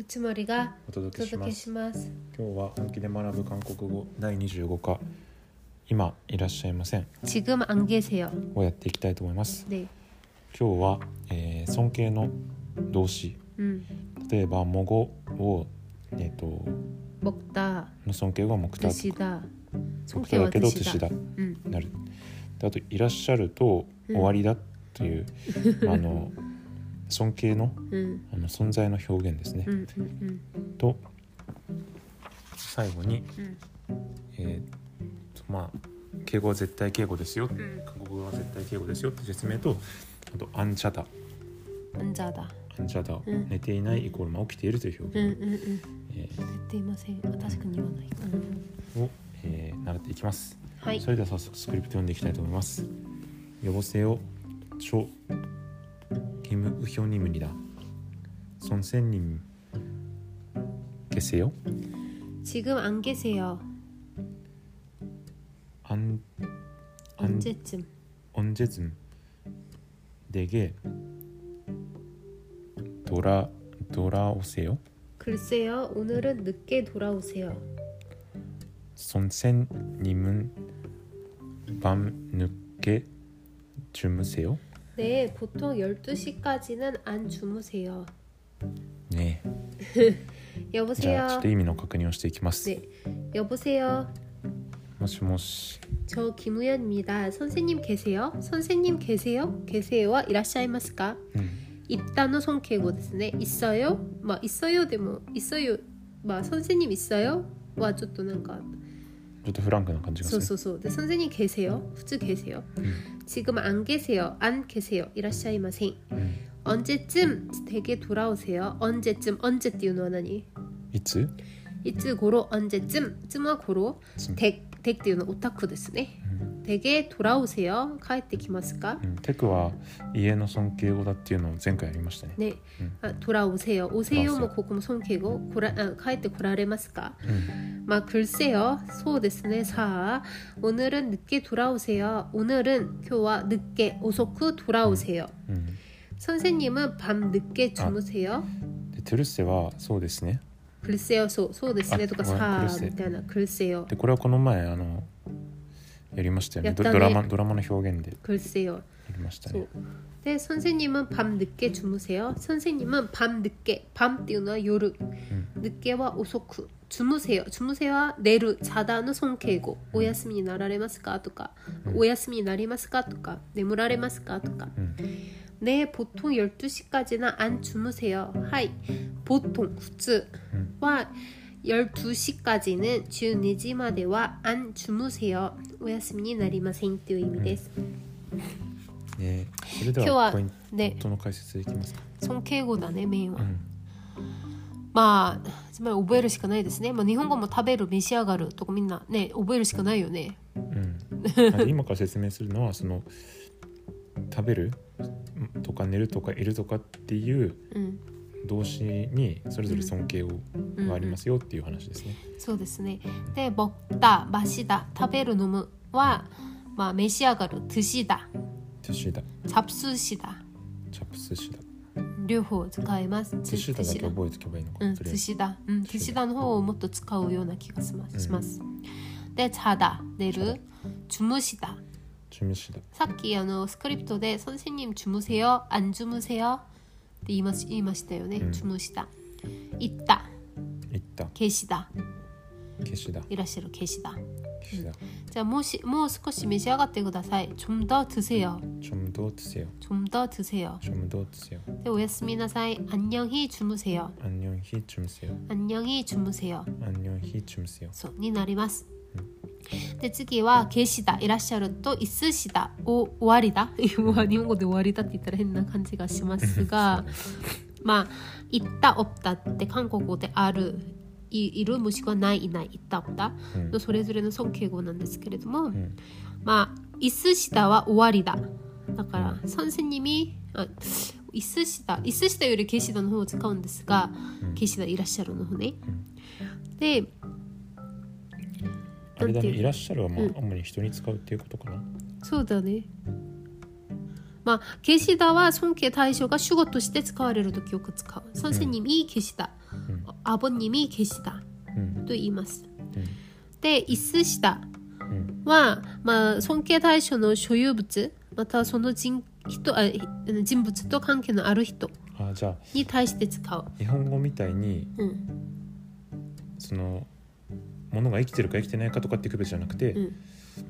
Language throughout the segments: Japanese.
우츠머리가 お届けします。 お届けします。 今日は本気で学ぶ韓国語第25課今いらっしゃいません 지금 안 계세요. をやっていきたいと思います。 네. 今日は、尊敬の動詞、例えばもごを、 먹다 の尊敬語は먹다 드시다 僕だけど 드시다. 드시다 なる。であといらっしゃると終わりだという、尊敬の、存在の表現ですね、と最後に、敬語は絶対敬語ですよ、韓国語は絶対敬語ですよって説明と、あとアンチャダ寝ていないイコール起きているという表現、 寝ていません。確かに言わない、 を、習っていきます、 はい。 それでは早速スクリプト読んでいきたいと思います。여보세요 초 김우현입니다. 선생님 계세요? 지금 안 계세요. 언제쯤 내게 돌아오세요? 글쎄요, 오늘은 늦게 돌아오세요. 선생님은 밤 늦게 주무세요? 네, 보통 12시까지는 안 주무세요. 네. 여보세요. ちょっと意味の確認をしていきます。 네. 여보세요. もしもし。 저 김우현입니다. 선생님 계세요? 선생님 계세요? 계세요와 이라샤이마스까? 있다는 손케고 ですね. 있어요? 있어요 でも 있어요. 선생님 있어요? 와ちょっとなんかちょっとフランクな感じがする。 そう。で、선생님 계세요? 普通 계세요? 지금 안 계세요. 안 계세요. 이라샤이마생. 언제쯤 댁에 돌아오세요? 언제쯤 언제 っていうのは何? いつ? いつ頃 언제쯤 쯤は頃 댁っていうのはオタクですね。댁에 돌아오세요. 帰ってきますか? テクは家の尊敬語だっていうのを前回やりましたね。 ね。돌아오세요. 오세요もここも尊敬語。帰ってこられますか? 글쎄요. そうですね. 사. 오늘은 늦게 돌아오세요. 오늘은 今日は 늦게遅く 돌아오세요. 선생님은 밤 늦게 주무세요. 들으세はそうですね. 글쎄요. そうですねとかさみたいな 글쎄요. でこれはこの前やりましたよね。ドラマの表現で 글쎄요. やりましたね。 네, 선생님은 밤 늦게 주무세요. 선생님은 밤 늦게, 밤 っていうのは夜, 늦게와 오소쿠, 주무세요와 내루, 자다는 손케고, 오야스미になられますかとか, 오야스미になりますかとか, 내무라れますかとか. 네, 보통 12시까지는 안 주무세요. 하이, 보통, 普通は 12시까지는 12時までは 안 주무세요. お休みになりませんという意味です。 それではポイントの解説いきますか。 尊敬語だね、メインは。つまり覚えるしかないですね。日本語も食べる、召し上がるとかみんなね、覚えるしかないよね。 今から説明するのはその食べるとか寝るとかいるとかっていう動詞にそれぞれ尊敬語がありますよっていう話ですね。 そうですね。で、먹다、마시다、食べる、飲むは、召し上がる、드시다、잡수시다、両方使います。 드시다だけ覚えておけばいいのかな。 드시다の方をもっと使うような気がします。で、자다、寝る、주무시다。さっきスクリプトで선생님 주무세요? 안 주무세요? って言いましたよね。주무시다。있다。계시다。いらっしゃる、계시다。じゃあもう少し召し上がってください。좀 더 드세요。で、おやすみなさい。안녕히 주무세요。そうになります。で、次はケシダ、いらっしゃるとイスシダ、終わりだ日本語で終わりだって言ったら変な感じがしますがいったおったって韓国語である、いるもしくはない、いない、いったおったのそれぞれの尊敬語なんですけれども、イスシダは終わりだ。だから선생님이イスシダよりケシダの方を使うんですが、ケシダいらっしゃるの方ね。で、 あれだね、いらっしゃるは主に人に使うっていうことかな。 そうだね。계시다は尊敬対象が主語として使われるときよく使う。선생님이 계시다 아버님이 계시다 うんと言います。 うんで、있으시다 うんは、尊敬対象の所有物またはその人物と関係のある人あ、じゃあに対して使う。 日本語みたいにうんそのものが生きてるか生きてないかとかっていう区別じゃなくて、 うん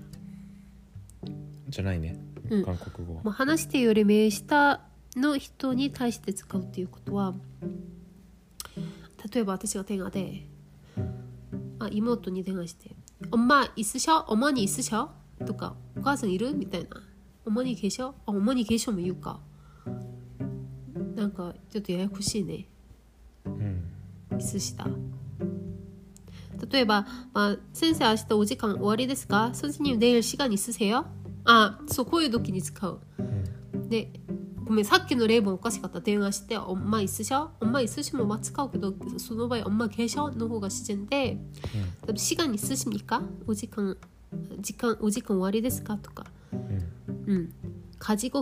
じゃないね、 うん韓国語は。 まあ、話してより名下の人に対して使うっていうことは、例えば私が電話で妹に電話して「엄마 있으셔? 어머니 있으셔?」とか「お母さんいる?」みたいな「어머니 계셔? 어머니 계셔」も言うかなんかちょっとややこしいね。있으시다。例えば、先生明日お時間終わりですか? 선생님 내일 시간 있으세요? そうこういう時に使う。で、ごめんさっきの例もおかしかった。電話して엄마 있으셔? 엄마 있으시면使うけどその場合엄마 계셔?の方が自然で、시간 있으십니까? お時間終わりですか? とか、가지고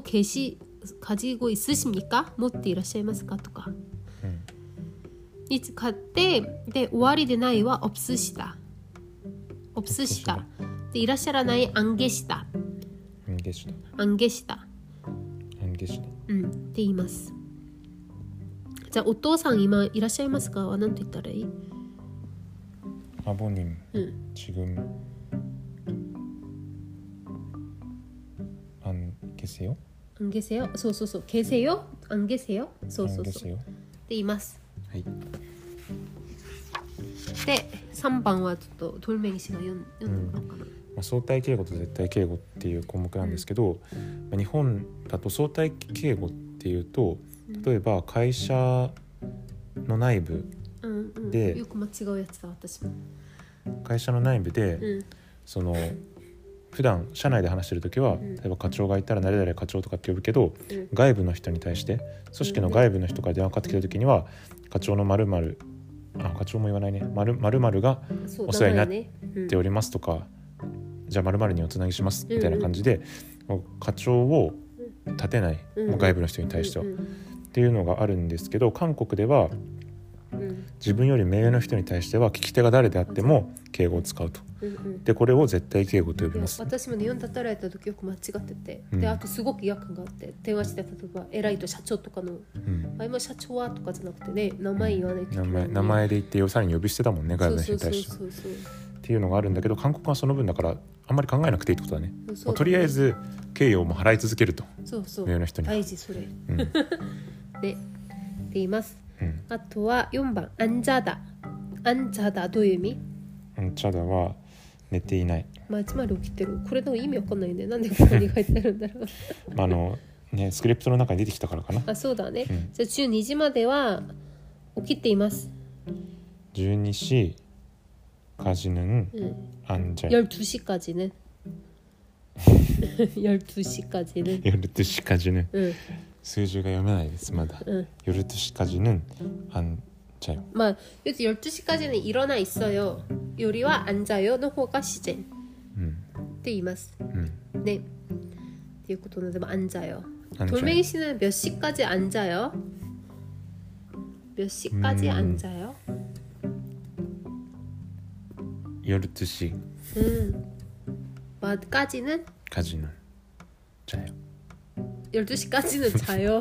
있으십니까? 持っていらっしゃいますか? とかに使って、で終わりでないは없으시다でいらっしゃらない안 계시다って言います。じゃあお父さん今いらっしゃいますかは何て言ったらいい? 아버님 지금 안 계세요? 안 계세요? そうそうそう 계세요? 안 계세요? そうそうそうって言います。 はい。 で3番はちょっとトルメギ氏が読んでもらおうかな。 相対敬語と絶対敬語っていう項目なんですけど、日本だと相対敬語っていうと、例えば会社の内部で、 よく間違うやつだ私も。 会社の内部で、その普段社内で話してるときは、例えば課長がいたら誰々課長とかって呼ぶけど、外部の人に対して組織の外部の人から電話かかってきたときには、課長の〇〇課長も言わないね、〇〇がお世話になっておりますとか、じゃあ〇〇におつなぎしますみたいな感じで、課長を立てない、外部の人に対しては、っていうのがあるんですけど、韓国では自分より目上の人に対しては聞き手が誰であっても敬語を使うと。でこれを絶対敬語と呼びます。 私も日本で働いた時よく間違ってて、であとすごく違和感があって、電話して例えば偉いと社長とかの、今社長はとかじゃなくてね、名前言わないといけない、 名前で言ってさらに呼び捨てだもんね、外部の人に対してはっていうのがあるんだけど、韓国はその分だからあんまり考えなくていいってことだね。とりあえず敬意をも払い続けると。目上の人に大事それ、で言います。あとは4番앉아다。どういう意味？ 앉아다は寝ていない。 つまり起きてる。これの意味わかんないね。なんでここに書いてあるんだろう。 スクリプトの中に出てきたからかな。 そうだね。じゃあ12時までは起きています。 12시까지는 앉아요. 12시까지는 12시까지는 数字が読めないですまだ。12시까지는 앉아요. 12시까지는 일어나 있어요. 요리와 앉아요の方が自然って言います。ね。っていうことなので앉아요. 돌멩이 씨는 몇 시까지 앉아요? 몇 시까지 앉아요? 12시. 까지는 자요. 12시까지는 자요.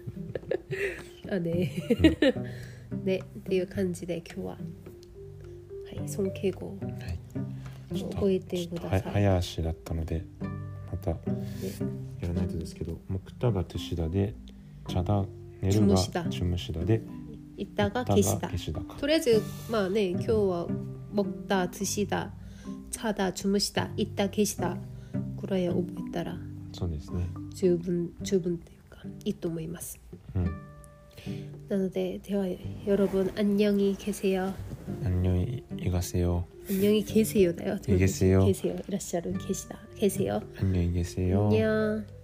네. ね、っていう感じで今日は、尊敬語を覚えてください。 早足だったのでまたやらないとですけど、木田が드시다で茶だ寝るが주무시다で 있다が계시다。とりあえず今日は먹다 드시다 자다 주무시다 있다 계시다くらい覚えたらそうですね。 十分っていうかいいと思います。なので、では여러분 안녕히 계세요. 안녕히 가세요. 안녕히 계세요だよ。 계세요. 계세요. いらっしゃる계시다. 계세요. 안녕히 계세요. 안녕.